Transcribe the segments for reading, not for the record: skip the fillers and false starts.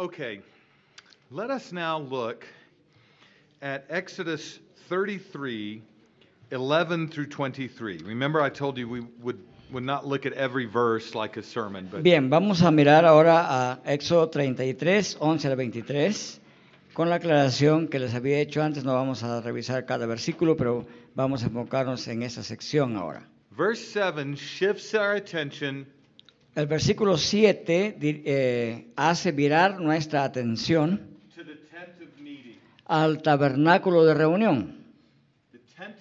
Okay, let us now look at Exodus 33, 11 through 23. Remember I told you we would not look at every verse like a sermon, but Bien, vamos a mirar ahora a Éxodo 33, 11 al 23. Con la aclaración que les había hecho antes, no vamos a revisar cada versículo, pero vamos a enfocarnos en esa sección ahora. verse 7 shifts our attention El versículo 7 hace virar nuestra atención to the tent of meeting. al tabernáculo de reunión. The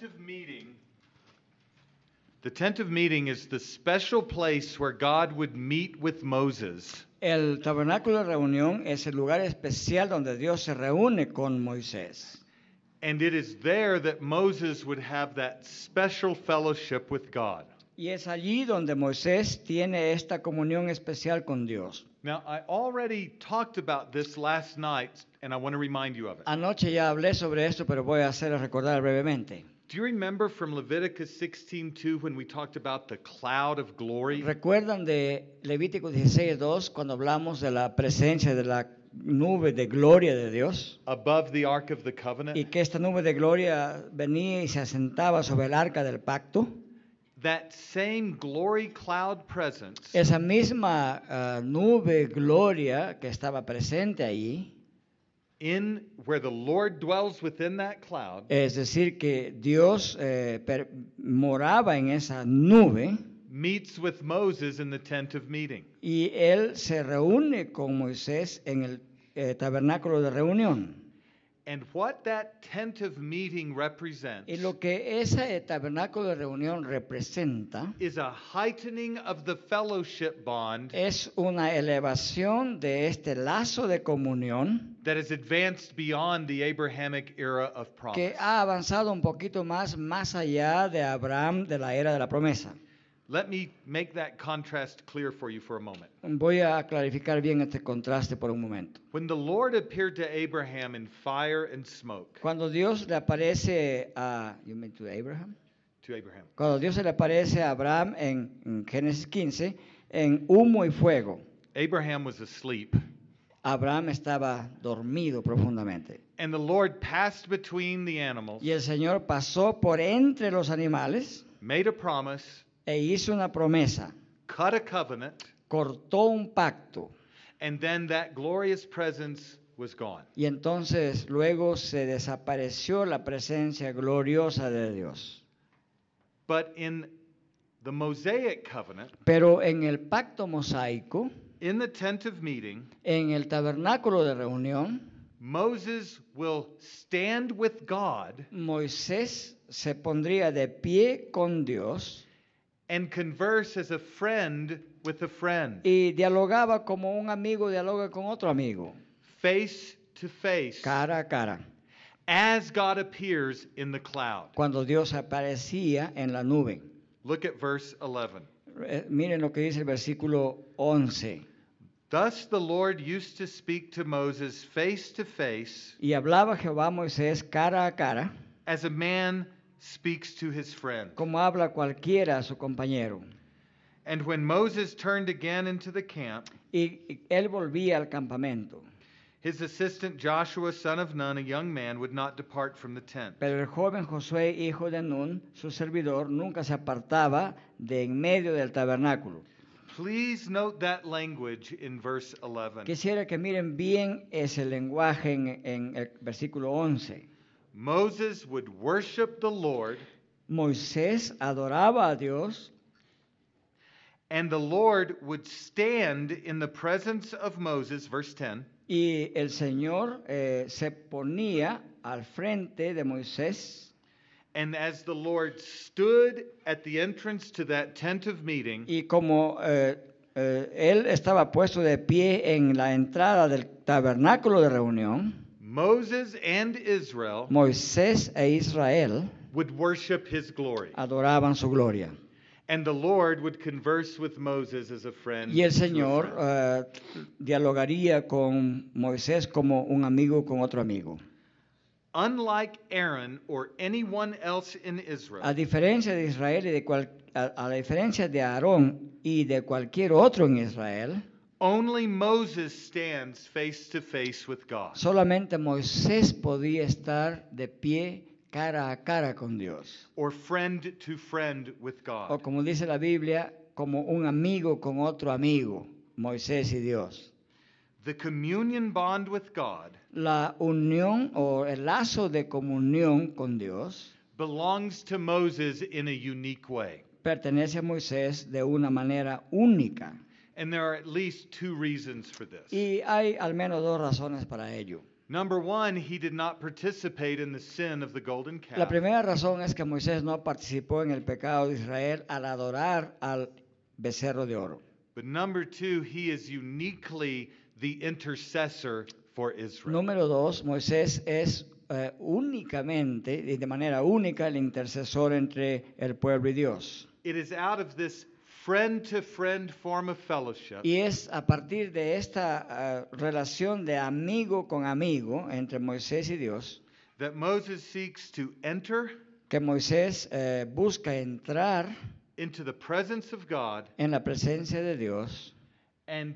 tent of meeting is the special place where God would meet with Moses. El tabernáculo de reunión es el lugar especial donde Dios se reúne con Moisés. And it is there that Moses would have that special fellowship with God. Y es allí donde Moisés tiene esta comunión especial con Dios. Now, I already talked about this last night, and I want to remind you of it. Anoche ya hablé sobre esto, pero voy a hacer recordar brevemente. Do you remember from Leviticus 16:2 when we talked about the cloud of glory? ¿Recuerdan de Levítico 16:2 cuando hablamos de la presencia de la nube de gloria de Dios? Above the Ark of the Y Covenant? que esta nube de gloria venía y se asentaba sobre el arca del pacto. That same glory cloud presence Esa misma nube gloria que estaba presente allí, in where the Lord dwells within that cloud es decir, que Dios moraba en esa nube meets with Moses in the tent of meeting. y él se reúne con Moisés en el tabernáculo de reunión. And what that tent of meeting represents Y lo que ese tabernáculo de reunión representa is a heightening of the fellowship bond es una elevación de este lazo de comunión that has advanced beyond the Abrahamic era of promise. que ha avanzado un poquito más allá de Abraham, de la era de la promesa. Let me make that contrast clear for you for a moment. Voy a clarificar bien este contraste por un momento. When the Lord appeared to Abraham in fire and smoke, Cuando Dios le aparece a Abraham, to Abraham, cuando Dios se le aparece a Abraham en Génesis 15 en humo y fuego, Abraham was asleep, Abraham estaba dormido profundamente. and the Lord passed between the animals, Y el Señor pasó por entre los animales made a promise, e hizo una promesa, cut a covenant, cortó un pacto and then that glorious presence was gone. y entonces luego se desapareció la presencia gloriosa de Dios. But in the Mosaic covenant, Pero en el pacto mosaico, in the tent of meeting, en el tabernáculo de reunión, Moses will stand with God Moisés se pondría de pie con Dios and converse as a friend with a friend, y dialogaba como un amigo dialoga con otro amigo, face to face, cara a cara, as God appears in the cloud. cuando Dios aparecía en la nube. Look at verse 11. Miren lo que dice el versículo 11. Thus the Lord used to speak to Moses face to face, Y hablaba Jehová a Moisés cara a cara, as a man speaks to his friend. como habla cualquiera a su compañero. And when Moses turned again into the camp, Y él volvía al campamento. his assistant Joshua, son of Nun, a young man, would not depart from the tent. Pero el joven Josué, hijo de Nun, su servidor, nunca se apartaba de en medio del tabernáculo. Please note that language in verse 11. Quisiera que miren bien ese lenguaje en el versículo 11. Moses would worship the Lord, Moisés adoraba a Dios and the Lord would stand in the presence of Moses, verse 10, y el Señor se ponía al frente de Moisés. and as the Lord stood at the entrance to that tent of meeting, Y como él estaba puesto de pie en la entrada del tabernáculo de reunión, Moses and Israel Moisés e Israel would worship his glory. adoraban su gloria. And the Lord would converse with Moses as a friend. Y el to a Señor friend. dialogaría con Moisés como un amigo con otro amigo. Unlike Aaron or anyone else in A Israel, diferencia de Israel y a la diferencia de Aarón y de cualquier otro en Israel, Only Moses stands face to face with God. Solamente Moisés podía estar de pie cara a cara con Dios. Or friend to friend with O God. como dice la Biblia, como un amigo con otro amigo, Moisés y Dios. The communion bond with God La unión o el lazo de comunión con Dios belongs to Moses in a unique way. pertenece a Moisés de una manera única. And there are at least two reasons for this. Y hay al menos dos razones para ello. Number one, he did not participate in the sin of the golden calf. La primera razón es que Moisés no participó en el pecado de Israel al adorar al becerro de oro. But number two, he is uniquely the intercessor for Israel. Número dos, Moisés es únicamente y de manera única el intercesor entre el pueblo y Dios. It is out of this friend-to-friend form of fellowship Y es a partir de esta relación de amigo con amigo entre Moisés y Dios that Moses seeks to enter que Moisés busca entrar into the presence of God en la presencia de Dios and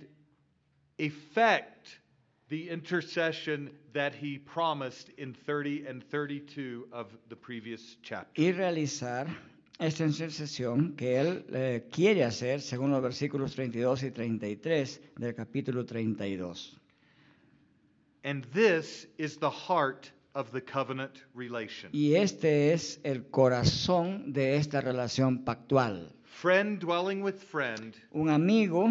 effect the intercession that he promised in 30 and 32 of the previous chapter. y realizar esta intercesión que él quiere hacer según los versículos 32 y 33 del capítulo 32. And this is the heart of the covenant relation. Y este es el corazón de esta relación pactual. Friend dwelling with friend Un amigo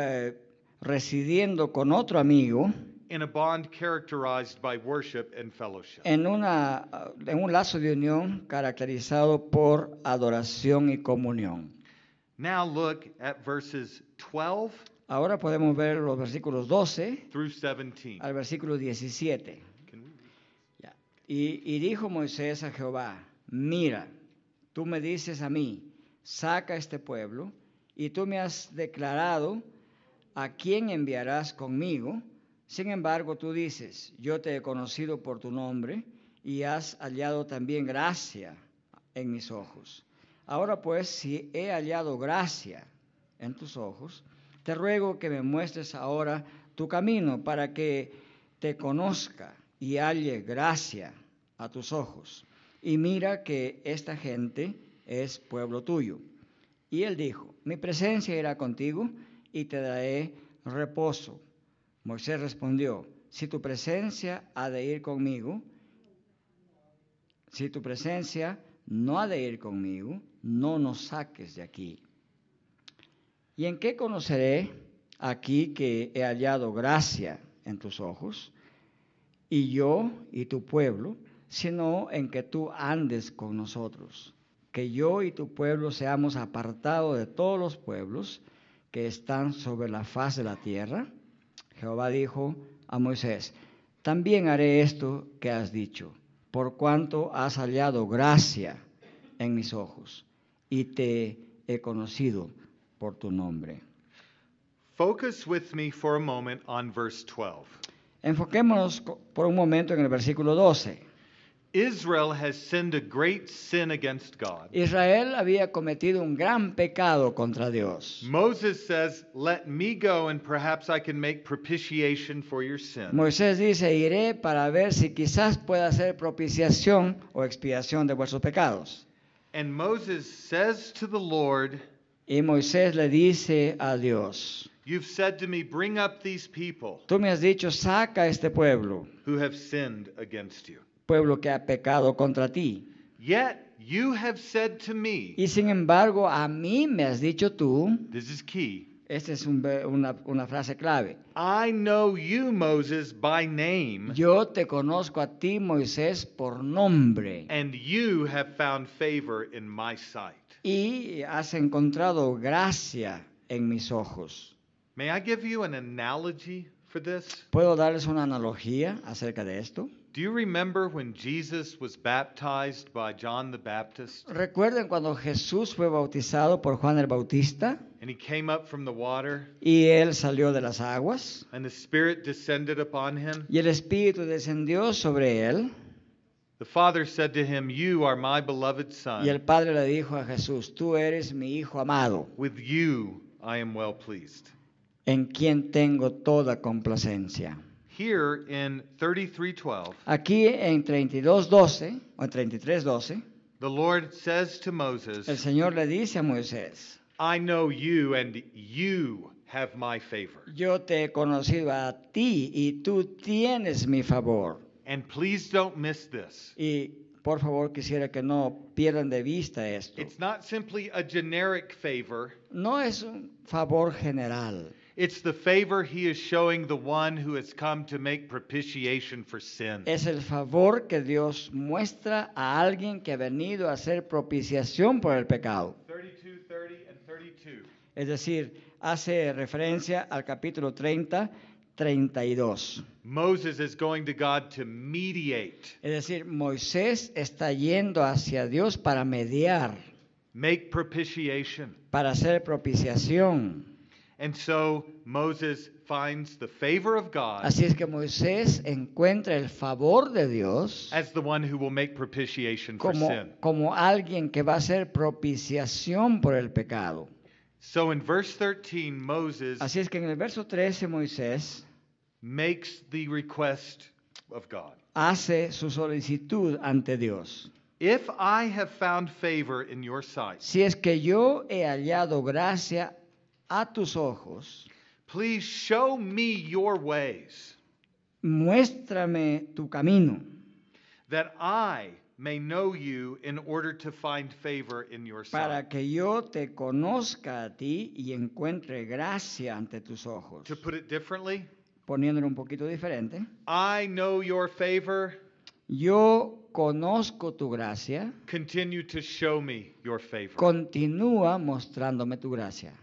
residiendo con otro amigo in a bond characterized by worship and fellowship. en un lazo de unión caracterizado por adoración y comunión. Now look at verses 12 Ahora podemos ver los versículos 12 through 17. al versículo 17. Can we read? Ya. Y dijo Moisés a Jehová, mira, tú me dices a mí, saca este pueblo, y tú me has declarado a quién enviarás conmigo. Sin embargo, tú dices, yo te he conocido por tu nombre y has hallado también gracia en mis ojos. Ahora pues, si he hallado gracia en tus ojos, te ruego que me muestres ahora tu camino para que te conozca y halle gracia a tus ojos. Y mira que esta gente es pueblo tuyo. Y él dijo, mi presencia irá contigo y te daré reposo. Moisés respondió, si tu presencia ha de ir conmigo, si tu presencia no ha de ir conmigo, no nos saques de aquí. ¿Y en qué conoceré aquí que he hallado gracia en tus ojos, y yo y tu pueblo, sino en que tú andes con nosotros? Que yo y tu pueblo seamos apartados de todos los pueblos que están sobre la faz de la tierra. Jehová dijo a Moisés, también haré esto que has dicho, por cuanto has hallado gracia en mis ojos, y te he conocido por tu nombre. Focus with me for a moment on verse 12. Enfoquémonos por un momento en el versículo 12. Israel has sinned a great sin against God. Israel había cometido un gran pecado contra Dios. Moses says, let me go and perhaps I can make propitiation for your sin. Moisés dice, iré para ver si quizás pueda hacer propiciación o expiación de vuestros pecados. And Moses says to the Lord, Y Moisés le dice a Dios, you've said to me, bring up these people tú me has dicho, saca a este pueblo, who have sinned against you. pueblo que ha pecado contra ti. Yet you have said to me, Y sin embargo, a mí me has dicho tú, this is key, esta es una frase clave, I know you, Moses, by name, yo te conozco a ti, Moisés, por nombre, and you have found favor in my sight. y has encontrado gracia en mis ojos. May I give you an analogy for this? ¿Puedo darles una analogía acerca de esto? Do you remember when Jesus was baptized by John the Baptist ¿Recuerdan cuando Jesús fue bautizado por Juan el Bautista and he came up from the water y él salió de las aguas and the Spirit descended upon him? y el Espíritu descendió sobre él? The Father said to him, you are my beloved Y el Son. Padre le dijo a Jesús, tú eres mi Hijo amado, With you I am well pleased. en quien tengo toda complacencia. Here in 33:12, Aquí en 32:12 o en 33:12, the Lord says to el Moses, Señor le dice a Moisés, I know you and you have my favor. yo te he conocido a ti y tú tienes mi favor. And please don't miss this. Y por favor quisiera que no pierdan de vista esto. It's not simply a generic favor. No es un favor general. It's the favor he is showing the one who has come to make propitiation for sin. Es el favor que Dios muestra a alguien que ha venido a hacer propiciación por el pecado. 32, 30, and 32. Es decir, hace referencia al capítulo 30, 32. Moses is going to God to mediate, Es decir, Moisés está yendo hacia Dios para mediar, make propitiation. para hacer propiciación. And so Moses finds the favor of God Así es que Moisés encuentra el favor de Dios as the one who will make propitiation for sin. como alguien que va a hacer propiciación por el pecado. So in verse 13, Moses Así es que en el verso 13 Moisés makes the request of God. hace su solicitud ante Dios. If I have found favor in your sight, Si es que yo he hallado gracia a tus ojos, please show me your ways, muéstrame tu camino, that I may know you in order to find favor in your para sight. que yo te conozca a ti y encuentre gracia ante tus ojos. To put it differently, Poniéndolo un poquito diferente, I know your favor, yo conozco tu gracia, continue to show me your favor. continúa mostrándome tu gracia.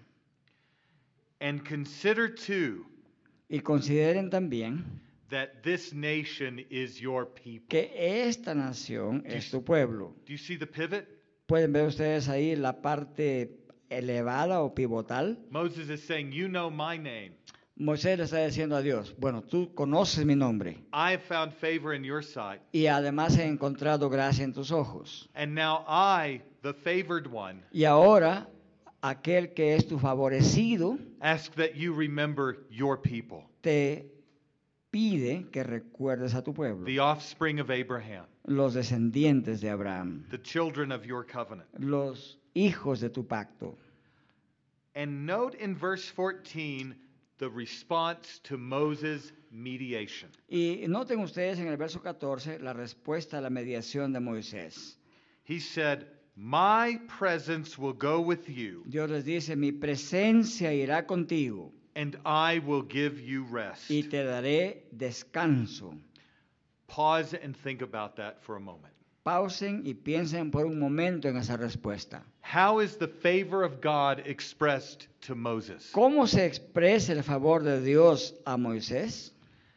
And consider too Y consideren también that this nation is your people. que esta nación es tu pueblo. Do you see the pivot? Pueden ver ustedes ahí la parte elevada o pivotal. Moses is saying, you know my name. Moisés le está diciendo a Dios, bueno, tú conoces mi nombre I have found favor in your sight. y además he encontrado gracia en tus ojos. And now I, the favored one, Y ahora, aquel que es tu favorecido, ask that you remember your people, te pide que recuerdes a tu pueblo, the offspring of Abraham, los descendientes de Abraham, the children of your covenant. los hijos de tu pacto. And note in verse 14 the response to Moses' mediation. Y noten ustedes en el verso 14 la respuesta a la mediación de Moisés. He said, my presence will go with you, Dios les dice, mi presencia irá contigo and I will give you rest. y te daré descanso. Pause and think about that for a moment. Pausen y piensen por un momento en esa respuesta. How is the favor of God expressed to Moses? ¿Cómo se expresa el favor de Dios a Moisés?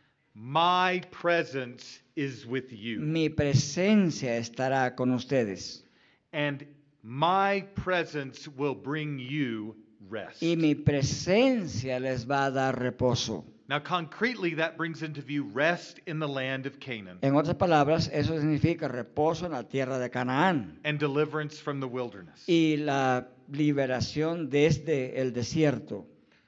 My presence is with you, Mi presencia estará con ustedes and my presence will bring you rest. y mi presencia les va a dar reposo. Now, concretely, that brings into view rest in the land of Canaan En otras palabras, eso significa reposo en la tierra de Canaán and deliverance from the wilderness. y la liberación desde el desierto.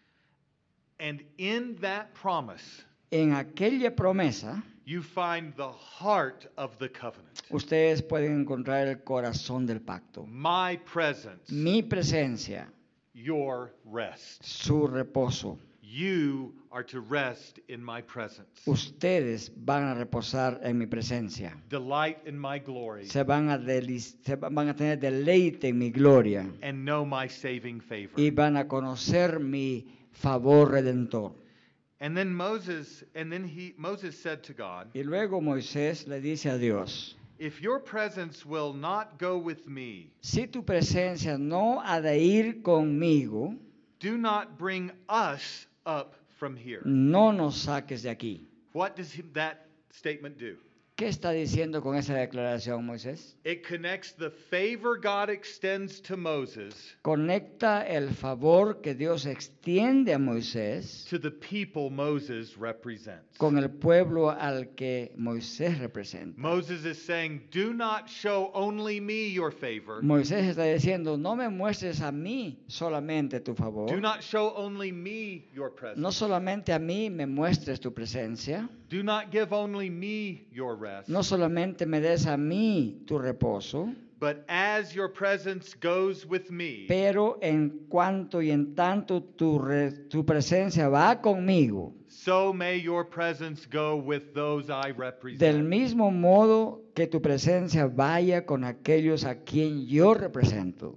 And in that promise, En aquella promesa, you find the heart of the covenant. ustedes pueden encontrar el corazón del pacto. My presence, Mi presencia, your rest. su reposo. You are to rest in my presence. Ustedes van a reposar en mi presencia. Delight in my glory Se van a tener deleite en mi gloria and know my saving favor. y van a conocer mi favor redentor. And then Moses said to God, Y luego Moisés le dice a Dios, if your presence will not go with me, si tu presencia no ha de ir conmigo, do not bring us up from here. no nos saques de aquí. What does that statement do? ¿Qué está diciendo con esa declaración, Moisés? It connects the favor God extends to Moses Conecta el favor que Dios extiende a Moisés to the people Moses represents. con el pueblo al que Moisés representa. Moses is saying, do not show only me your favor. Moisés está diciendo, no me muestres a mí solamente tu Do favor, not show only me your no presence. solamente a mí me muestres tu presencia, Do not give only me your rest. no solamente me des a mí tu reposo, But as your presence goes with me, pero en cuanto y en tanto tu presencia va conmigo, so may your presence go with those I del represent. mismo modo que tu presencia vaya con aquellos a quien yo represento.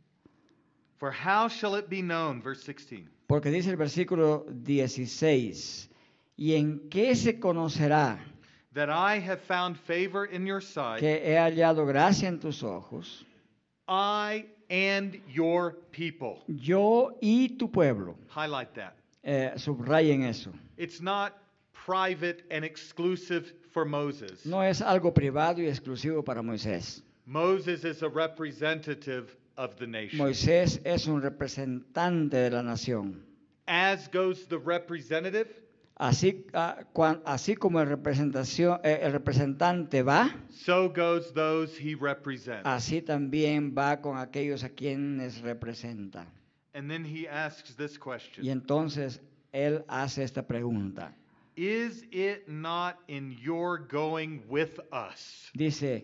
For how shall it be known, verse 16, Porque dice el versículo 16, ¿y en qué se conocerá that I have found favor in your sight, que he hallado gracia en tus ojos, I and your people? yo y tu pueblo? Highlight that. Subrayen eso. It's not private and exclusive for Moses. No es algo privado y exclusivo para Moisés. Moses is a representative of the nation. Moisés es un representante de la nación. As goes the representative, Así, así como el representante va, so goes those he represents. así también va con aquellos a quienes representa. And then he asks this Y question. entonces él hace esta pregunta. Is it not in your going with us Dice,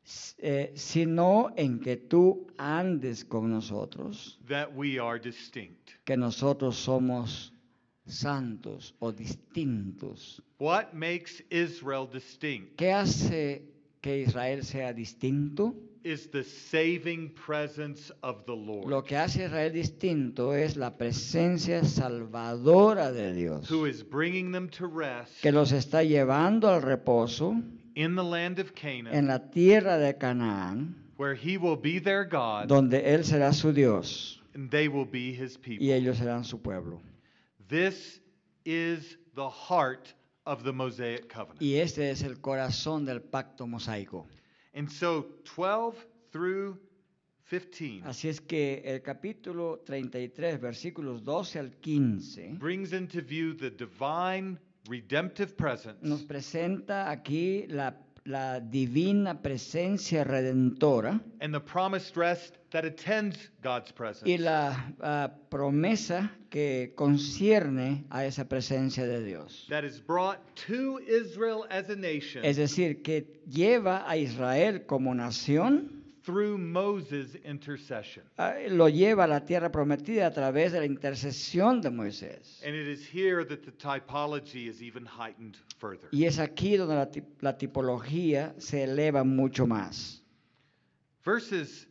sino en que tú andes con nosotros, that we are distinct? que nosotros somos santos o distintos. What makes Israel distinct ¿Qué hace que Israel sea distinto? is the saving presence of the Lord, Lo que hace a Israel distinto es la presencia salvadora de Dios, who is bringing them to rest que los está llevando al reposo in the land of en Canaan, la tierra de Canaán, where he will be their God donde Él será su Dios and they will be his y people. ellos serán su pueblo. This is the heart of the Mosaic covenant. Y este es el corazón del pacto mosaico. And so 12 through 15 Así es que el capítulo 33, versículos 12 al 15, brings into view the divine redemptive presence nos presenta aquí la divina presencia redentora and the promised rest that attends God's y presence. la promesa que concierne a esa presencia de Dios. That is brought to Israel as a nation Es decir, que lleva a Israel como nación, through Moses' intercession. lo lleva a la tierra prometida a través de la intercesión de Moisés. And it is here that the typology is even heightened further. Y es aquí donde la tipología se eleva mucho más. Verses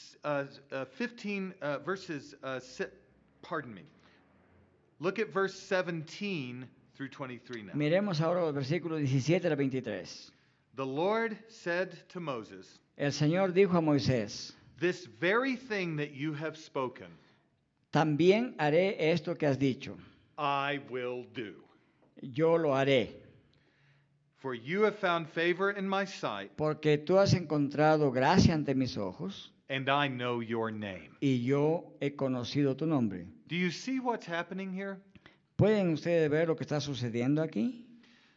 15, pardon me. Look at verse 17 through 23 now. Miremos ahora los versículos 17 al 23. The Lord said to Moses, El Señor dijo a Moisés, this very thing that you have spoken, también haré esto que has dicho. I will do. Yo lo haré, For you have found favor in my sight, porque tú has encontrado gracia ante mis ojos and I know your name. y yo he conocido tu nombre. Do you see what's happening here? ¿Pueden ustedes ver lo que está sucediendo aquí?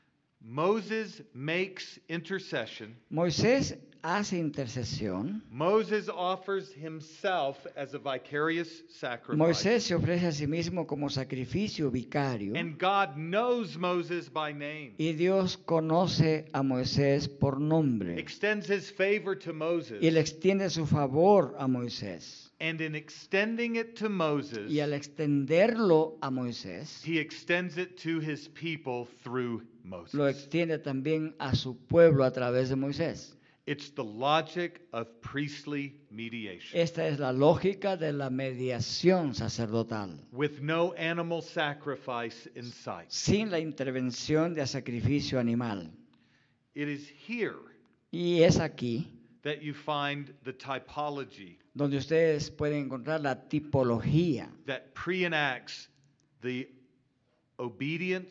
Moses makes intercession. Moisés hace intercesión. Moses offers himself as a vicarious sacrifice. Moisés se ofrece a sí mismo como sacrificio vicario. And God knows Moses by name. Y Dios conoce a Moisés por nombre. Extends his favor to Moses. Y le extiende su favor a Moisés. And in extending it to Moses, Y al extenderlo a Moisés, he extends it to his people through Moses. lo extiende también a su pueblo a través de Moisés. It's the logic of priestly mediation. Esta es la lógica de la mediación sacerdotal, With no animal sacrifice in sight. sin la intervención de sacrificio animal. It is here Y es aquí that you find the typology donde ustedes pueden encontrar la tipología that pre-enacts the obedience,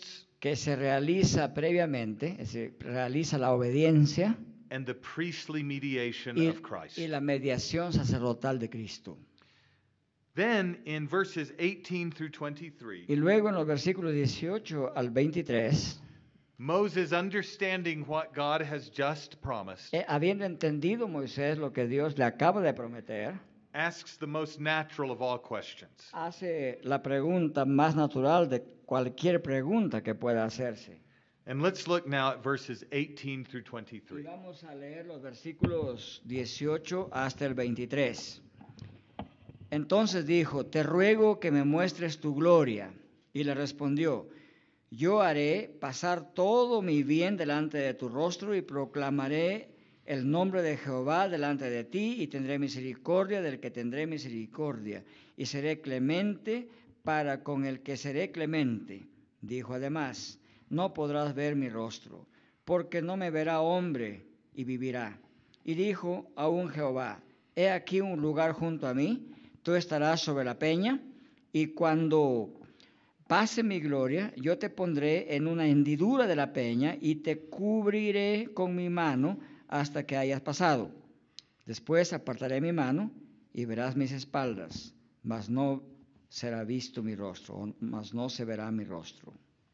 que se realiza previamente, es decir, realiza la obediencia and the priestly mediation y, of Christ. y la mediación sacerdotal de Cristo. Then in verses 18 through 23, Y luego en los versículos 18 al 23, Moses, understanding what God has just promised, habiendo entendido Moisés lo que Dios le acaba de prometer, asks the most natural of all questions. hace la pregunta más natural de cualquier pregunta que pueda hacerse. And let's look now at verses 18 through Y 23. vamos a leer los versículos 18 hasta el 23. Entonces dijo, te ruego que me muestres tu gloria. Y le respondió, yo haré pasar todo mi bien delante de tu rostro y proclamaré el nombre de Jehová delante de ti y tendré misericordia del que tendré misericordia y seré clemente para con el que seré clemente. Dijo además, no podrás ver mi rostro, porque no me verá hombre y vivirá. Y dijo aún Jehová, he aquí un lugar junto a mí, tú estarás sobre la peña, y cuando pase mi gloria, yo te pondré en una hendidura de la peña y te cubriré con mi mano hasta que hayas pasado. Después apartaré mi mano y verás mis espaldas, mas no será visto mi rostro, mas no se verá mi rostro.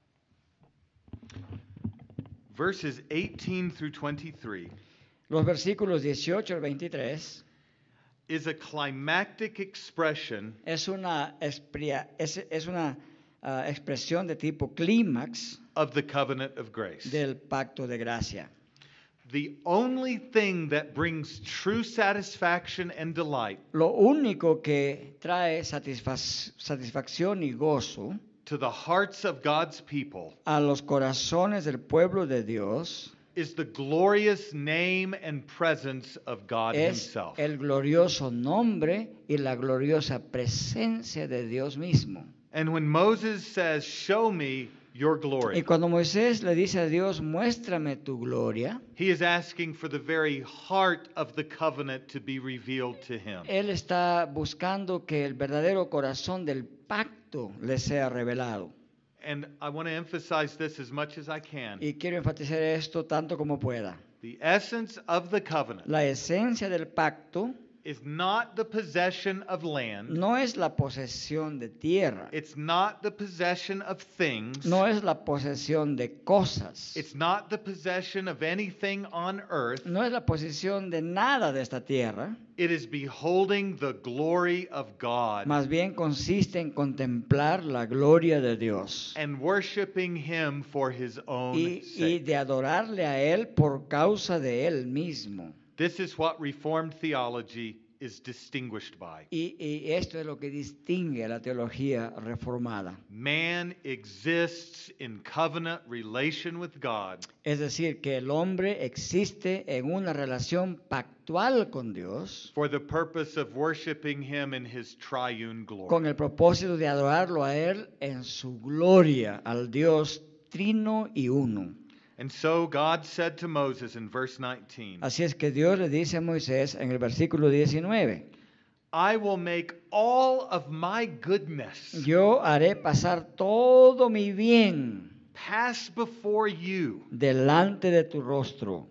Verses 18 through 23 Los versículos 18 al 23 is a climactic expression es una expresión de tipo clímax of the covenant of grace. del pacto de gracia. The only thing that brings true satisfaction and delight Lo único que trae satisfacción y gozo to the hearts of God's people a los corazones del pueblo de Dios is the glorious name and presence of God es Himself. el glorioso nombre y la gloriosa presencia de Dios mismo. And when Moses says, "Show me your Y glory," cuando Moisés le dice a Dios, muéstrame tu gloria, he is asking for the very heart of the covenant to be revealed to him. él está buscando que el verdadero corazón del pacto le sea revelado. And I want to emphasize this as much as I can. Y quiero enfatizar esto tanto como pueda. The essence of the covenant La esencia del pacto is not the possession of land. no es la posesión de tierra, It's not the possession of things. no es la posesión de cosas, It's not the possession of anything on earth. no es la posesión de nada de esta tierra, It is beholding the glory of God más bien consiste en contemplar la gloria de Dios and worshiping Him for His own y sake. de adorarle a Él por causa de Él mismo. This is what Reformed theology is distinguished by. Y esto es lo que distingue a la teología reformada. Man exists in covenant relation with God Es decir, que el hombre existe en una relación pactual con Dios for the purpose of worshiping Him in His triune con glory. el propósito de adorarlo a Él en su gloria, al Dios trino y uno. And so God said to Moses in verse 19, Así es que Dios le dice a Moisés en el versículo 19, I will make all of my goodness yo haré pasar todo mi bien pass before you, delante de tu rostro,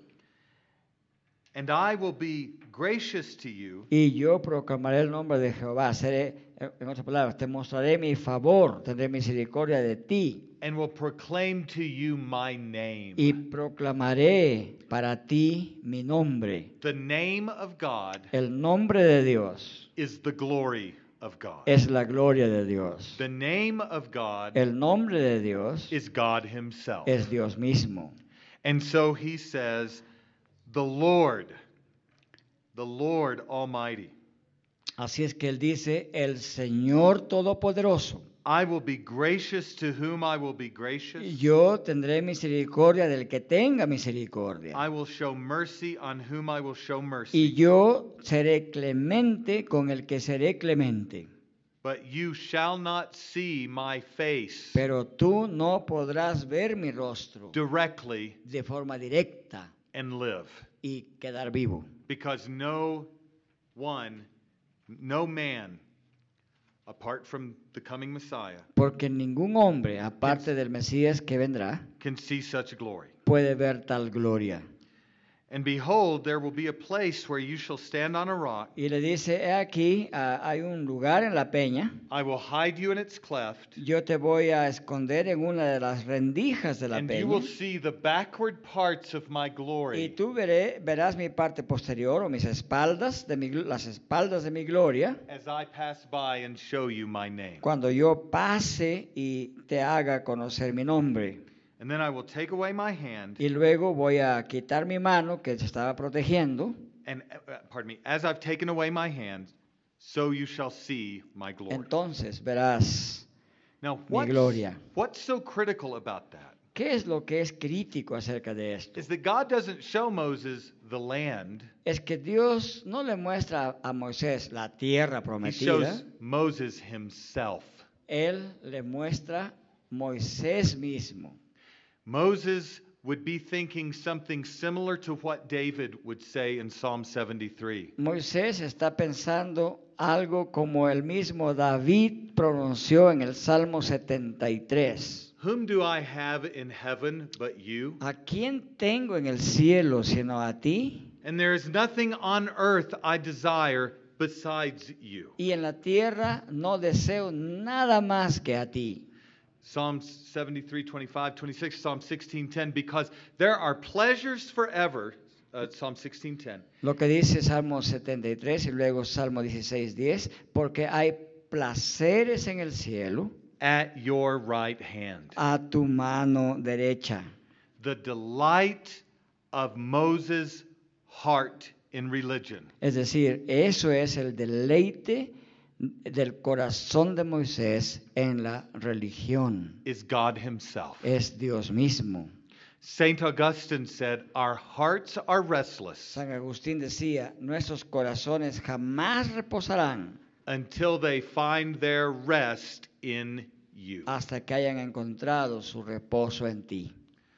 and I will be gracious to you, y yo proclamaré el nombre de Jehová. Seré, en otras palabras, te mostraré mi favor, tendré misericordia de ti, and will proclaim to you my name. y proclamaré para ti mi nombre. The name of God El nombre de Dios is the glory of God. es la gloria de Dios. The name of God El nombre de Dios is God Himself. es Dios mismo. And so He says, the Lord Almighty, Así es que él dice, el Señor Todopoderoso. I will be gracious to whom I will be gracious. Yo tendré misericordia del que tenga misericordia. I will show mercy on whom I will show Y mercy. yo seré clemente con el que seré clemente. But you shall not see my face Pero tú no podrás ver mi rostro directly de forma directa and live. y quedar vivo. Because no man apart from the coming Messiah, porque ningún hombre, aparte del Mesías que vendrá, can see such glory. puede ver tal gloria. And behold, there will be a place where you shall stand on a rock. Y le dice, he aquí, hay un lugar en la peña, I will hide you in its cleft, yo te voy a esconder en una de las rendijas de la and you will peña, see the backward parts of my y glory tú verás mi parte posterior, o mis espaldas, las espaldas de mi gloria, as I pass by and show you my name. cuando yo pase y te haga conocer mi nombre. And then I will take away my hand, Y luego voy a quitar mi mano que se estaba protegiendo. and pardon me, as I've taken away my hand, so you shall see my glory. Entonces verás Now, mi gloria. what's so critical about that ¿Qué es lo que es crítico acerca de esto? is that God doesn't show Moses the land, Es que Dios no le muestra a Moisés la tierra he prometida, shows Moses himself. Él le muestra Moisés mismo. Moses would be thinking something similar to what David would say in Psalm 73. Moisés está pensando algo como el mismo David pronunció en el Salmo 73. Whom do I have in heaven but you? ¿A quién tengo en el cielo sino a ti? And there is nothing on earth I desire besides you. Y en la tierra no deseo nada más que a ti. Psalm 73, 25, 26, Psalm 16:10, because there are pleasures forever, Psalm 16:10. Lo que dice Salmo 73 y luego Salmo 16:10, porque hay placeres en el cielo At your right hand. a tu mano derecha. The delight of Moses' heart in religion Es decir, eso es el deleite del corazón de Moisés en la religión. is God himself. Es Dios mismo. St. Augustine said, our hearts are restless San Agustín decía, nuestros corazones jamás reposarán until they find their rest in you. hasta que hayan encontrado su reposo en ti.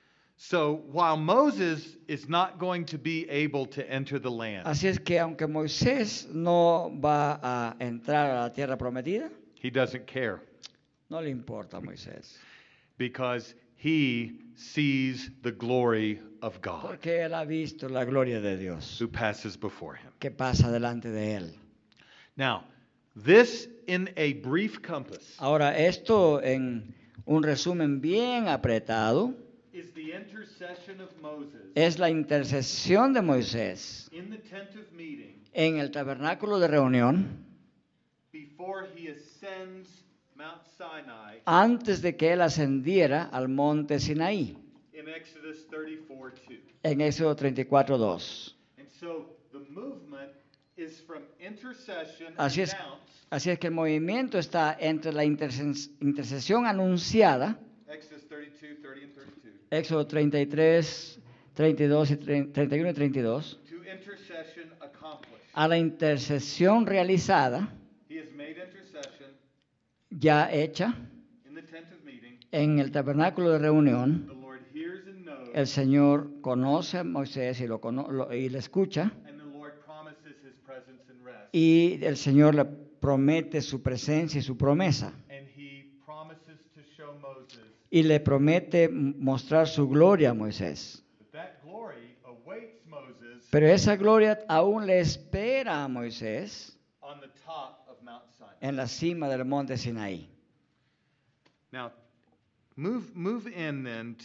So while Moses is not going to be able to enter the land, Así es que aunque Moisés no va a entrar a la tierra prometida, he doesn't care no le importa a Moisés, because he sees the glory of God porque él ha visto la gloria de Dios who passes before him. que pasa delante de él. Now, this in a brief compass Ahora, esto en un resumen bien apretado is the intercession of Moses es la intercesión de Moisés in the tent of meeting en el tabernáculo de reunión before he ascends Mount Sinai antes de que él ascendiera al monte Sinaí, in Exodus 34:2. en Éxodo 34:2. And so the movement is from intercession Así es, announced, así es que el movimiento está entre la intercesión anunciada, Exodus 32, 30 and 32, Éxodo 33, 32 y 31 y 32, to intercession accomplished. a la intercesión realizada, He has made intercession ya hecha, in the tent of meeting. en el tabernáculo de reunión. The Lord hears and knows, El Señor conoce a Moisés y y le escucha, and the Lord promises his presence and rest. y el Señor le promete su presencia y su promesa, And he promises to show Moses y le promete mostrar su gloria a Moisés. that that glory awaits Moses Pero esa gloria aún le espera a Moisés on the top of Mount Sinai. en la cima del monte Sinaí. Now, move in then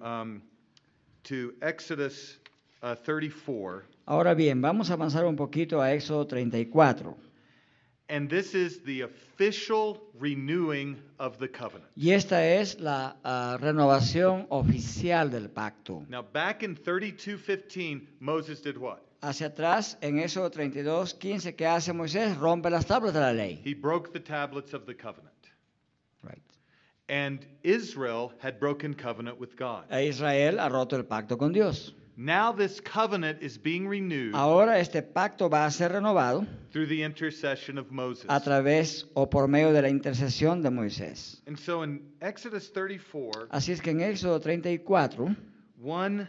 to Exodus 34, Ahora bien, vamos a avanzar un poquito a Éxodo 34. and this is the official renewing of the covenant. Y esta es la renovación oficial del pacto. Now, back in 32:15, Moses did what? Hacia atrás, en Éxodo 32:15, ¿qué hace Moisés? Rompe las tablas de la ley. He broke the tablets of the covenant. Right. And Israel had broken covenant with God. E Israel ha roto el pacto con Dios. Now this covenant is being renewed Ahora este pacto va a ser renovado through the intercession of Moses. a través o por medio de la intercesión de Moisés. And so in Exodus 34, Así es que en Éxodo 34, 1,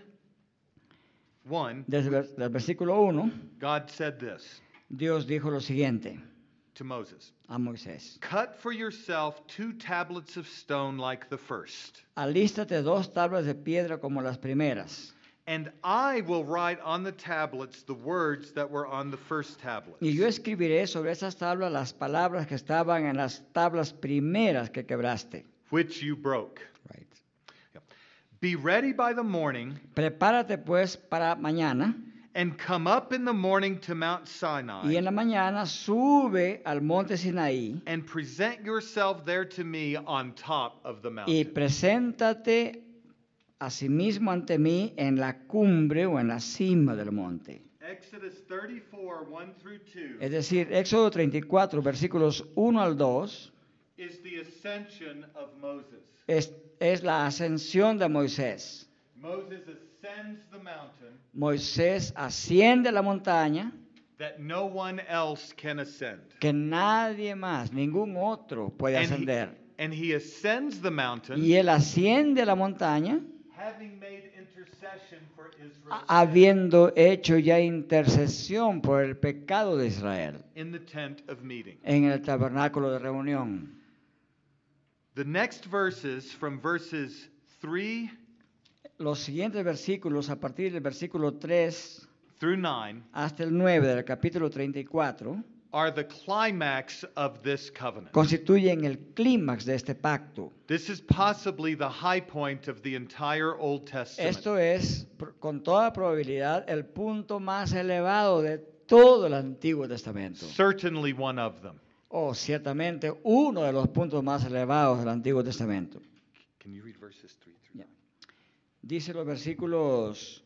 desde el versículo 1, God said this. Dios dijo lo siguiente: to Moses, a Moisés: cut for yourself 2 tablets of stone like the first, alístate 2 tablas de piedra como las primeras, and I will write on the tablets the words that were on the first tablets. y yo escribiré sobre esas tablas las palabras que estaban en las tablas primeras que quebraste. Which you broke. Right. Be ready by the morning, Prepárate pues para mañana, and come up in the morning to Mount y Sinai, en la mañana sube al monte Sinaí and present yourself there to me on top of the y mountain. preséntate asimismo ante mí en la cumbre o en la cima del monte. Exodus 34, 1 through 2 Es decir, Éxodo 34, versículos 1 al 2, is the ascension of Moses. es la ascensión de Moisés. Moses ascends the mountain Moisés asciende a la montaña that no one else can ascend. que nadie más, ningún otro puede ascender. And he ascends the mountain, Y él asciende a la montaña having made intercession for Israel habiendo hecho ya intercesión por el pecado de Israel in the tent of meeting. en el tabernáculo de reunión. The next verses, from verses 3 Los siguientes versículos, a partir del versículo 3 through 9, hasta el 9 del capítulo 34, are the climax of this covenant. constituyen el clímax de este pacto. This is possibly the high point of the entire Old Testament. Esto es, con toda probabilidad, el punto más elevado de todo el Antiguo Testamento. Certainly one of them. O ciertamente uno de los puntos más elevados del Antiguo Testamento. Can you read verses 3 through 9? Ya. Dice los versículos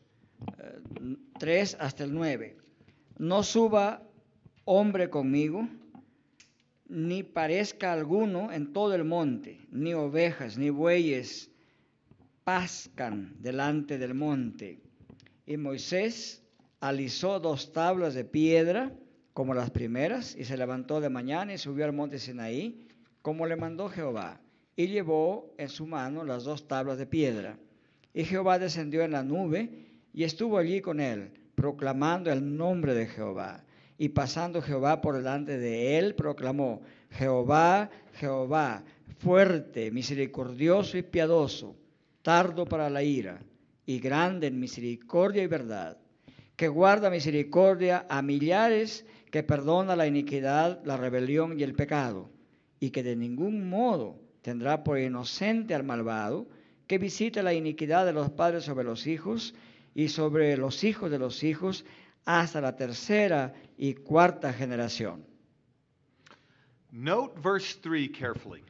3 hasta el 9. No suba hombre conmigo, ni parezca alguno en todo el monte, ni ovejas, ni bueyes pascan delante del monte. Y Moisés alisó 2 tablas de piedra como las primeras, y se levantó de mañana y subió al monte Sinaí, como le mandó Jehová, y llevó en su mano las 2 tablas de piedra. Y Jehová descendió en la nube y estuvo allí con él, proclamando el nombre de Jehová. Y pasando Jehová por delante de él, proclamó: Jehová, Jehová, fuerte, misericordioso y piadoso, tardo para la ira, y grande en misericordia y verdad, que guarda misericordia a millares, que perdona la iniquidad, la rebelión y el pecado, y que de ningún modo tendrá por inocente al malvado, que visita la iniquidad de los padres sobre los hijos y sobre los hijos de los hijos hasta la 3ª y 4ª generación. Note verse 3 carefully.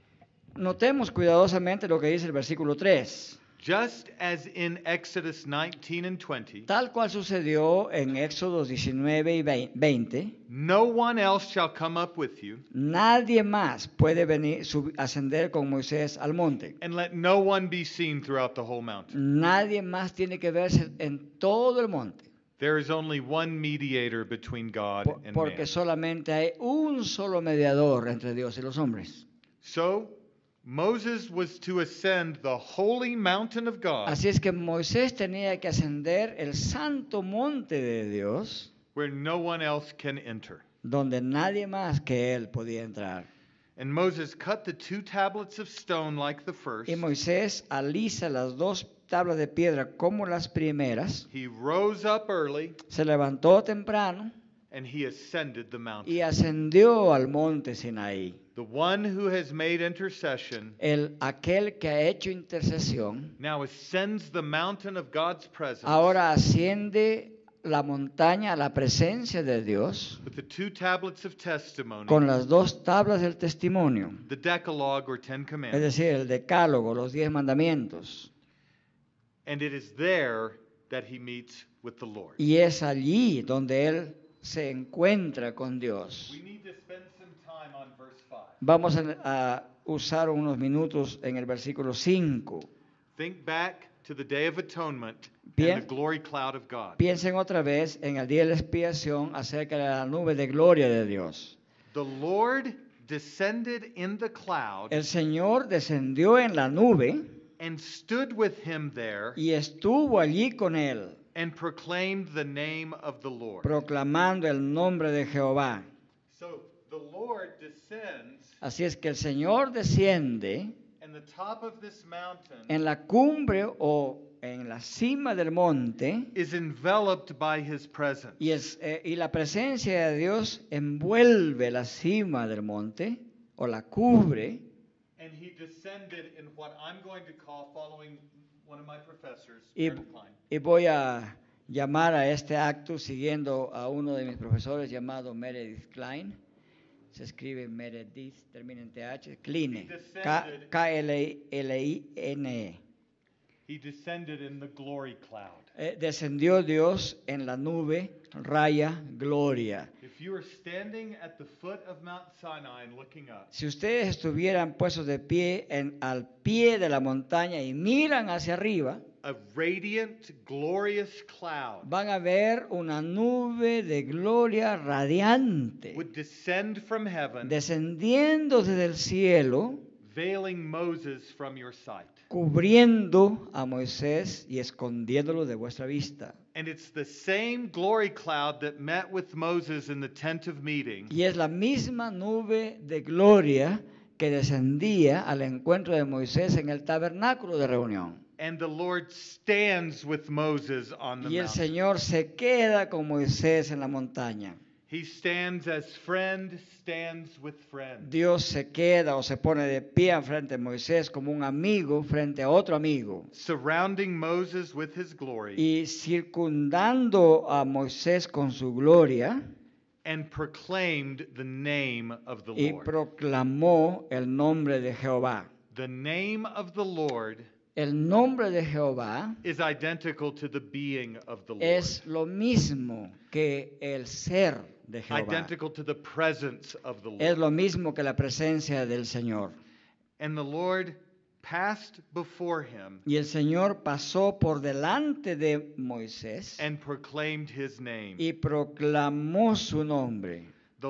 Notemos cuidadosamente lo que dice el versículo 3. Just as in Exodus 19 and 20, Tal cual sucedió en Éxodos 19 y 20, no one else shall come up with you, nadie más puede venir, ascender con Moisés al monte. and let no one be seen throughout the whole mountain. Nadie más tiene que verse en todo el monte. There is only one mediator between God and Porque man. solamente hay un solo mediador entre Dios y los hombres. So Moses was to ascend the holy mountain of God, Así es que Moisés tenía que ascender el santo monte de Dios, where no one else can enter. donde nadie más que él podía entrar. And Moses cut the 2 tablets of stone like the first. Y Moisés alisa las 2 tablas de piedra como las primeras, He rose up early se levantó temprano and he ascended the mountain. y ascendió al monte Sinaí. The one who has made intercession Aquel que ha hecho intercesión now ascends the mountain of God's presence ahora asciende la montaña a la presencia de Dios with the 2 tablets of testimony, con las 2 tablas del testimonio, the Decalogue or 10 es Commandments. decir, el decálogo, los 10 mandamientos. And it is there that he meets with the Lord. Y es allí donde él se encuentra con Dios. We need to spend some time on verse 5. Vamos a usar unos minutos en el versículo 5. Think back to the Day of Atonement Bien. and the glory cloud of God. Piensen otra vez en el día de la expiación acerca de la nube de gloria de Dios. The Lord descended in the cloud El Señor descendió en la nube and stood with him there y estuvo allí con él, and proclaimed the name of the Lord. proclamando el nombre de Jehová. So the the Lord descends, Así es que el Señor desciende and the top of this mountain en la cumbre o en la cima del monte is enveloped by his presence. y la presencia de Dios envuelve la cima del monte o la cubre. And he descended in what I'm going to call, following one of my professors, Y, Meredith Klein, y voy a llamar a este acto siguiendo a uno de mis profesores llamado Meredith Klein. Se escribe Meredith, termina en TH, Kline, Kline. he descended in the glory cloud. Descendió Dios en la nube, raya, gloria. If you are standing at the foot of Mount Sinai and looking up, Si ustedes estuvieran puestos de pie al pie de la montaña y miran hacia arriba, a radiant, glorious cloud van a ver una nube de gloria radiante would descend from heaven, descendiendo desde el cielo, veiling Moses from your sight. cubriendo a Moisés y escondiéndolo de vuestra vista. And it's the same glory cloud that met with Moses in the tent of meeting Y es la misma nube de gloria que descendía al encuentro de Moisés en el tabernáculo de reunión. and the Lord stands with Moses on the Y el mountain. Señor se queda con Moisés en la montaña. He stands as friend stands with friend. Dios se queda o se pone de pie frente a Moisés como un amigo frente a otro amigo. Surrounding Moses with his glory Y circundando a Moisés con su gloria and proclaimed the name of the y Lord. proclamó el nombre de Jehová. The name of the Lord El nombre de Jehová is identical to the being of the Lord. es lo mismo que el ser de Jehová. Identical to the presence of the Es Lord. lo mismo que la presencia del Señor. And the Lord passed before him Y el Señor pasó por delante de Moisés and proclaimed his name. y proclamó su nombre. The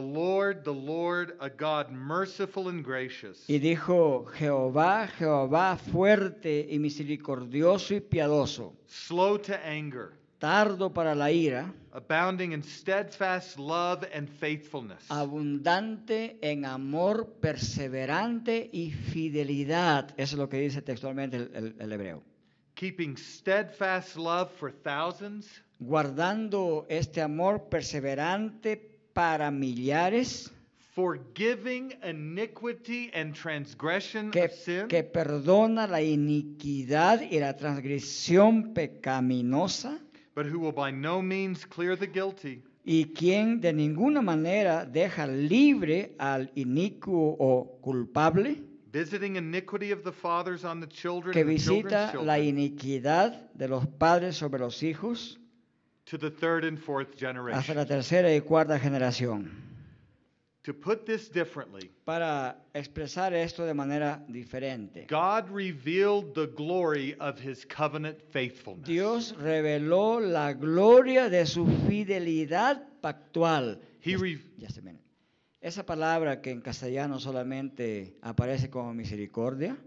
Lord, a God merciful and gracious, Y dijo, Jehová, Jehová, fuerte y misericordioso y piadoso, slow to anger, tardo para la ira, abounding in steadfast love and faithfulness, abundante en amor, perseverante y fidelidad. Eso es lo que dice textualmente el hebreo. keeping steadfast love for thousands, Guardando este amor perseverante para millares, forgiving iniquity and transgression que of sin, perdona la iniquidad y la transgresión pecaminosa, but who will by no means clear the guilty, y quien de ninguna manera deja libre al inicuo o culpable, visiting iniquity of the fathers on the children que and the children's visita la children, iniquidad de los padres sobre los hijos to the third and fourth hasta generation. la tercera y cuarta generación. To put this differently, Para expresar esto de manera diferente, God revealed the glory of his covenant faithfulness. Dios reveló la gloria de su fidelidad pactual. He Esa palabra que en castellano solamente aparece como misericordia,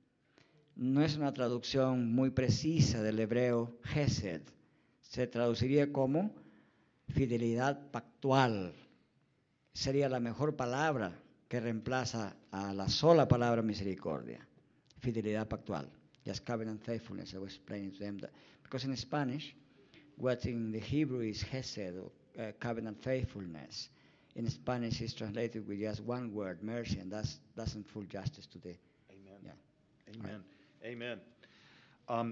no es una traducción muy precisa del hebreo Hesed. Se traduciría como fidelidad pactual. Sería la mejor palabra que reemplaza a la sola palabra misericordia. Fidelidad pactual. Just covenant faithfulness. I was explaining to them that. Because in Spanish, what in the Hebrew is Hesed, or covenant faithfulness. In Spanish, it's translated with just one word, mercy, and that doesn't full justice to the. Amen. Yeah. Amen. Amen.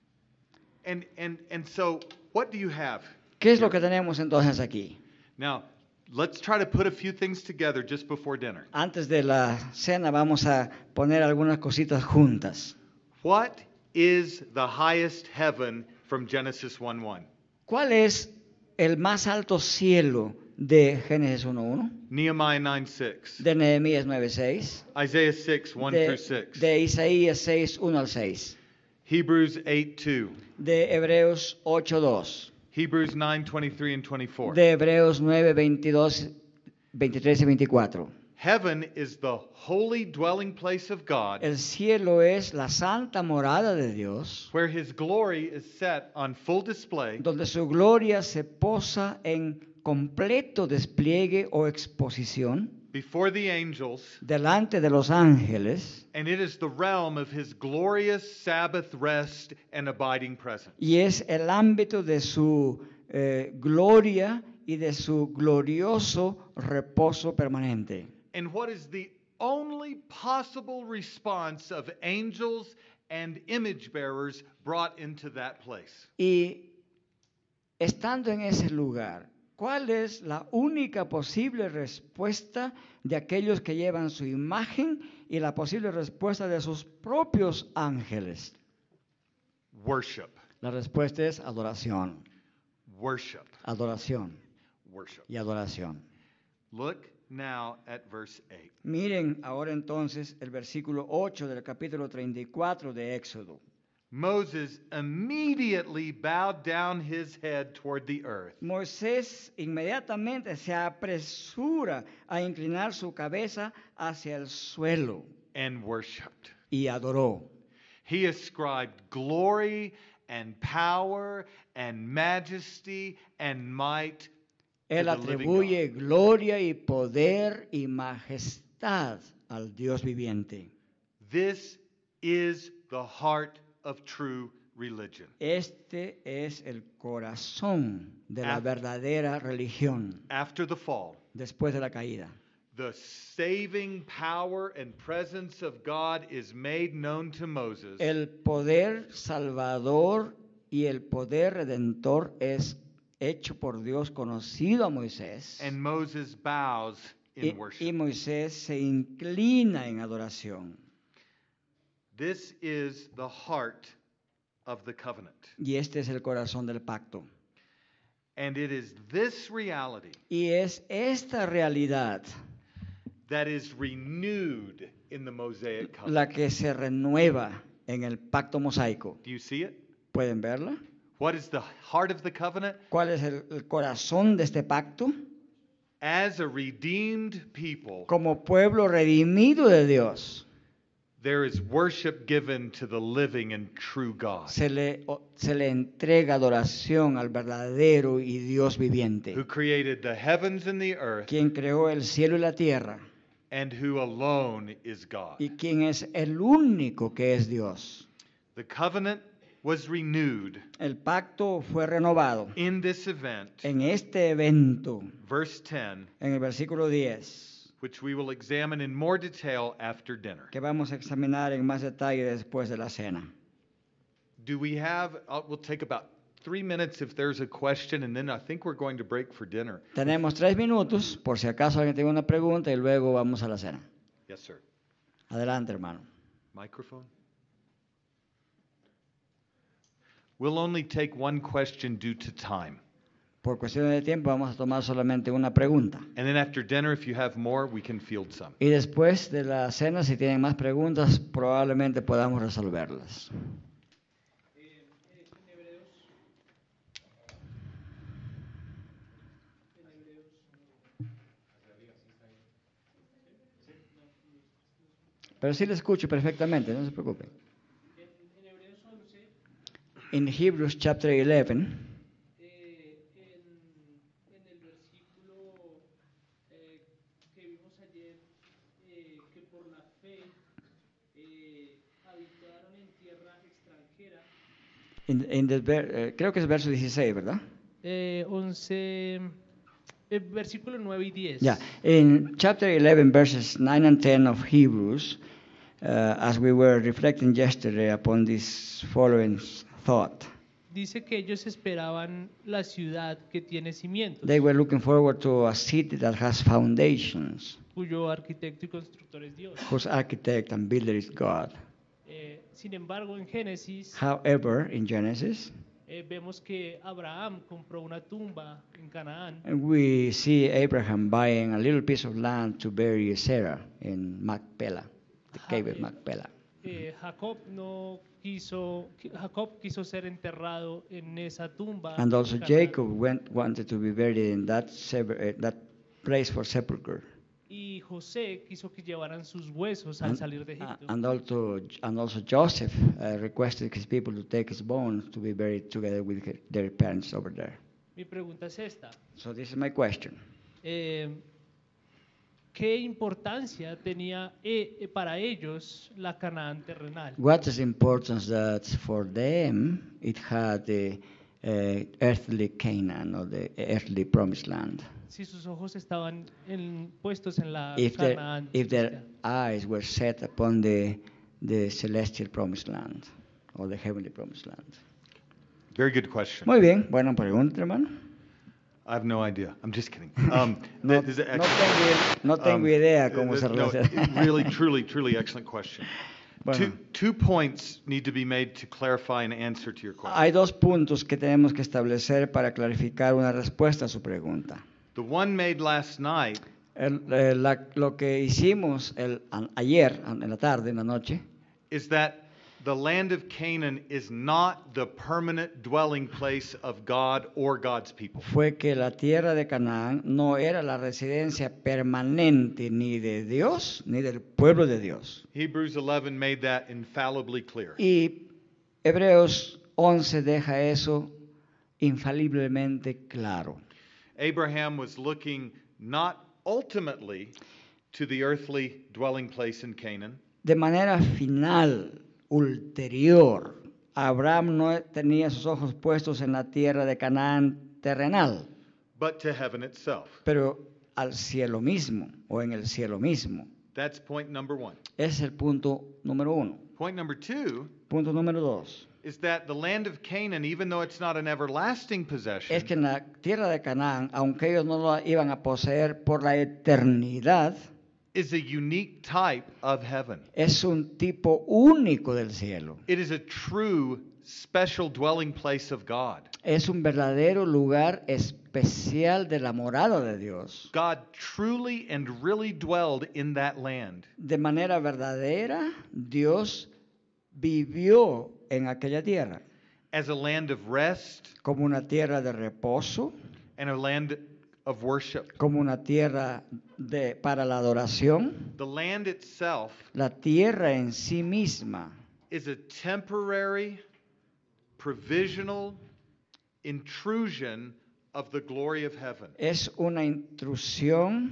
And so, what do you have? ¿Qué es lo que tenemos entonces aquí? Now, let's try to put a few things together just before dinner. Antes de la cena vamos a poner algunas cositas juntas. What is the highest heaven from Genesis 1:1? ¿Cuál es el más alto cielo de Génesis 1.1? Nehemiah 9:6. De Nehemías 9.6. Isaiah 6:1 through 6. De Isaías 6.1 al 6. Hebrews 8:2. De Hebreos 8.2. Hebrews 9:23 and 24. De Hebreos 9.22, 23 y 24. Heaven is the holy dwelling place of God, El cielo es la santa morada de Dios, where his glory is set on full display donde su gloria se posa en completo despliegue o exposición before the angels, delante de los ángeles, and it is the realm of his glorious Sabbath rest and abiding presence. y es el ámbito de su gloria y de su glorioso reposo permanente. And what is the only possible response of angels and image bearers brought into that place? Y estando en ese lugar, ¿cuál es la única posible respuesta de aquellos que llevan su imagen y la posible respuesta de sus propios ángeles? Worship, La respuesta es adoración, worship, adoración worship. y adoración. Look now at verse 8. Miren ahora entonces el versículo 8 del capítulo 34 de Éxodo. Moses immediately bowed down his head toward the earth. Moisés inmediatamente se apresura a inclinar su cabeza hacia el suelo And worshiped. y adoró. He ascribed glory and power and majesty and might to Él the living atribuye God. gloria y poder y majestad al Dios viviente. This is the heart of true religion. Este es el corazón de la Af- verdadera religión After the fall, después de la caída. the saving power and presence of God is made known to Moses. El poder salvador y el poder redentor es hecho por Dios conocido a Moisés. And Moses bows in Y worship. Moisés se inclina en adoración. This is the heart of the covenant. Y este es el corazón del pacto. And it is this reality Y es esta realidad that is renewed in the Mosaic covenant. la que se renueva en el pacto mosaico. Do you see it? ¿Pueden verla? What is the heart of the covenant? ¿Cuál es el corazón de este pacto? As a redeemed people, Como pueblo redimido de Dios, there is worship given to the living and true God, se le entrega adoración al verdadero y Dios viviente, who created the heavens and the earth, quien creó el cielo y la tierra, and who alone is God. y quien es el único que es Dios. The covenant was renewed El pacto fue renovado in this event, en este evento, verse 10, en el versículo 10, which we will examine in more detail after dinner. que vamos a examinar en más detalle después de la cena. Do we have, we'll take about 3 minutes if there's a question, and then I think we're going to break for dinner. Tenemos 3 minutos, por si acaso alguien tiene una pregunta, y luego vamos a la cena. Yes, sir. Adelante, hermano. Microphone? We'll only take one question due to time. Por cuestiones de tiempo vamos a tomar solamente una pregunta. And then after dinner, if you have more, we can field some. Y después de la cena, si tienen más preguntas, probablemente podamos resolverlas. Pero sí le escucho perfectamente, no se preocupen. In Hebrews chapter 11, en el versículo que vimos ayer, que por la fe habitaron en tierra extranjera. creo que es verso 16, ¿verdad? 11, versículo 9 y 10. Yeah, in chapter 11, verses 9 and 10 of Hebrews, as we were reflecting yesterday upon this following thought, Dice que ellos esperaban la ciudad que tiene cimientos, they were looking forward to a city that has foundations, cuyo arquitecto y constructor es Dios. whose architect and builder is God. Sin embargo, en Génesis However, in Genesis, vemos que Abraham compró una tumba en Canaán we see Abraham buying a little piece of land to bury Sarah in Macpela, the cave of Macpela. Jacob quiso ser enterrado en esa tumba. And also en Canaán. Jacob wanted to be buried in that place for sepulchre. Y José quiso que llevaran sus huesos al salir de Egipto. And also Joseph requested his people to take his bones to be buried together with their parents over there. Mi pregunta es esta. So this is my question. ¿Qué ¿qué importancia tenía para ellos la Canaán terrenal? What is importance that for them it had the earthly Canaan or the earthly promised land? Si sus ojos estaban puestos en la If Canaán their celestial. eyes were set upon the celestial promised land or the heavenly promised land. Very good question. Muy bien, buena pregunta, hermano. I have no idea. I'm just kidding. No, That is an no tengo idea cómo se no, relaciona. really, truly excellent question. Bueno. Two points need to be made to clarify an answer to your question. Hay dos puntos que tenemos que establecer para clarificar una respuesta a su pregunta. The one made last night Lo que hicimos ayer, en la tarde, en la noche, is that the land of Canaan is not the permanent dwelling place of God or God's people. fue que la tierra de Canaán no era la residencia permanente ni de Dios ni del pueblo de Dios. Hebrews 11 made that infallibly clear. Y Hebreos 11 deja eso infaliblemente claro. Abraham was looking not ultimately to the earthly dwelling place in Canaan, De manera final, ulterior, Abraham no tenía sus ojos puestos en la tierra de Canaán terrenal, but to heaven itself. pero al cielo mismo o en el cielo mismo. That's point number one. Ese es el punto número uno. Point number two Punto número dos. is that the land of Canaan, even though it's not an everlasting possession, Es que en la tierra de Canaán, aunque ellos no la iban a poseer por la eternidad, is a unique type of heaven. es un tipo único del cielo. It is a true special dwelling place of God. Es un verdadero lugar especial de la morada de Dios. God truly and really dwelled in that land. De manera verdadera, Dios vivió en aquella tierra As a land of rest como una tierra de reposo, and a land of worship. como una tierra para la adoración. The land itself La tierra en sí misma is a temporary, provisional intrusion of the glory of heaven. es una intrusión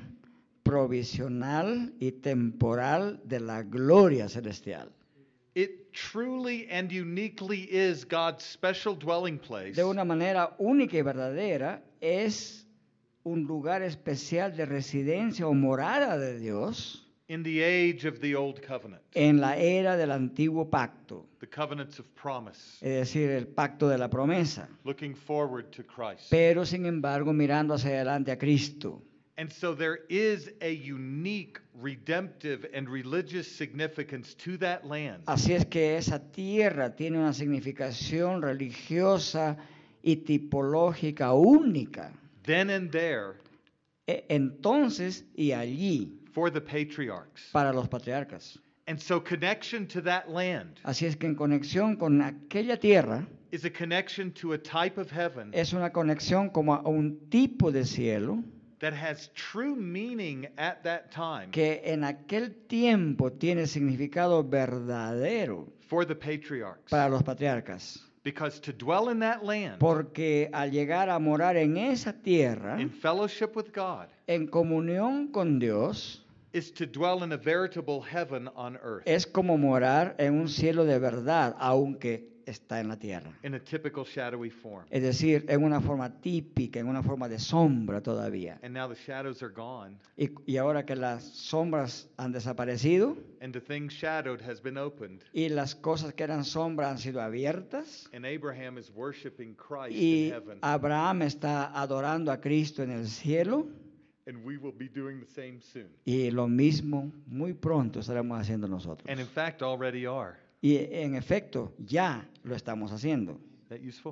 provisional y temporal de la gloria celestial. It truly and uniquely is God's special dwelling place De una manera única y verdadera, es un lugar especial de residencia o morada de Dios in the age of the old covenant, en la era del antiguo pacto, the covenants of promise, es decir, el pacto de la promesa, looking forward to Christ. pero sin embargo mirando hacia adelante a Cristo. And so there is a unique redemptive and religious significance to that land. Así es que esa tierra tiene una significación religiosa y tipológica única. Then and there Entonces y allí for the patriarchs. para los patriarcas. And so connection to that land Así es que en conexión con aquella tierra is a connection to a type of heaven es una conexión como a un tipo de cielo that has true meaning at that time que en aquel tiempo tiene significado verdadero for the patriarchs. para los patriarcas. Because to dwell in that land Porque al llegar a morar en esa tierra, in fellowship with God en comunión con Dios, is to dwell in a veritable heaven on earth es como morar en un cielo de verdad, aunque está en la tierra. in a typical shadowy form. Es decir, en una forma típica, en una forma de sombra todavía. And now the shadows are gone Y ahora que las sombras han desaparecido and the thing shadowed has been opened y las cosas que eran sombra han sido abiertas and Abraham is worshiping Christ in y heaven Abraham está adorando a Cristo en el cielo and we will be doing the same soon. y lo mismo muy pronto estaremos haciendo nosotros. And in fact already are. Y en efecto, ya lo estamos haciendo. That useful?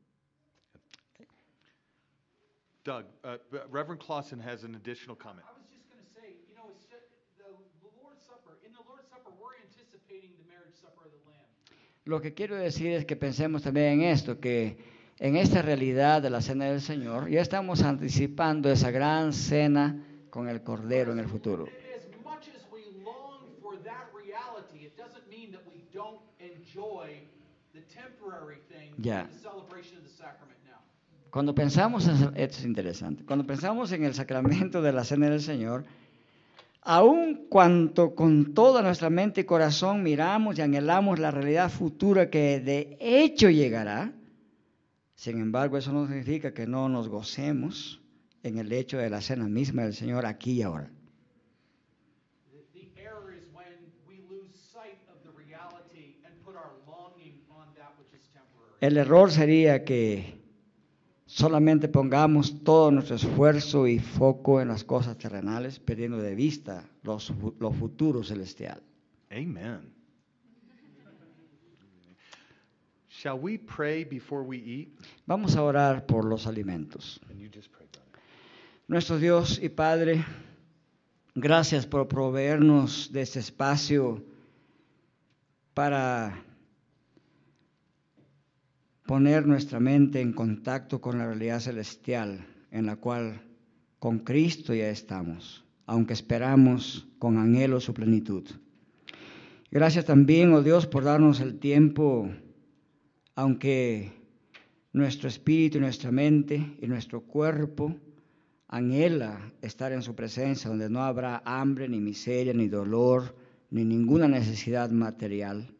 Doug, Reverend Clausen has an additional comment. I was just going to say, you know, it's just the Lord's Supper. In the Lord's Supper, we're anticipating the marriage supper of the Lamb. Lo que quiero decir es que pensemos también en esto, que en esta realidad de la cena del Señor, ya estamos anticipando esa gran cena con el Cordero en el futuro. As much as we long for that reality, it doesn't mean that we don't enjoy the temporary thing, Yeah. the celebration of the sacrament now. Cuando pensamos, esto es interesante, cuando pensamos en el sacramento de la cena del Señor, Aun cuanto con toda nuestra mente y corazón miramos y anhelamos la realidad futura que de hecho llegará, sin embargo, eso no significa que no nos gocemos en el hecho de la cena misma del Señor aquí y ahora. The error is when we lose sight of the reality and put our longing on that which is temporary. El error sería que solamente pongamos todo nuestro esfuerzo y foco en las cosas terrenales, perdiendo de vista lo futuro celestial. Amen. Shall we pray before we eat? Vamos a orar por los alimentos. And you just pray, brother. Nuestro Dios y Padre, gracias por proveernos de este espacio para poner nuestra mente en contacto con la realidad celestial en la cual con Cristo ya estamos, aunque esperamos con anhelo su plenitud. Gracias también, oh Dios, por darnos el tiempo, aunque nuestro espíritu y nuestra mente y nuestro cuerpo anhela estar en su presencia, donde no habrá hambre, ni miseria, ni dolor, ni ninguna necesidad material.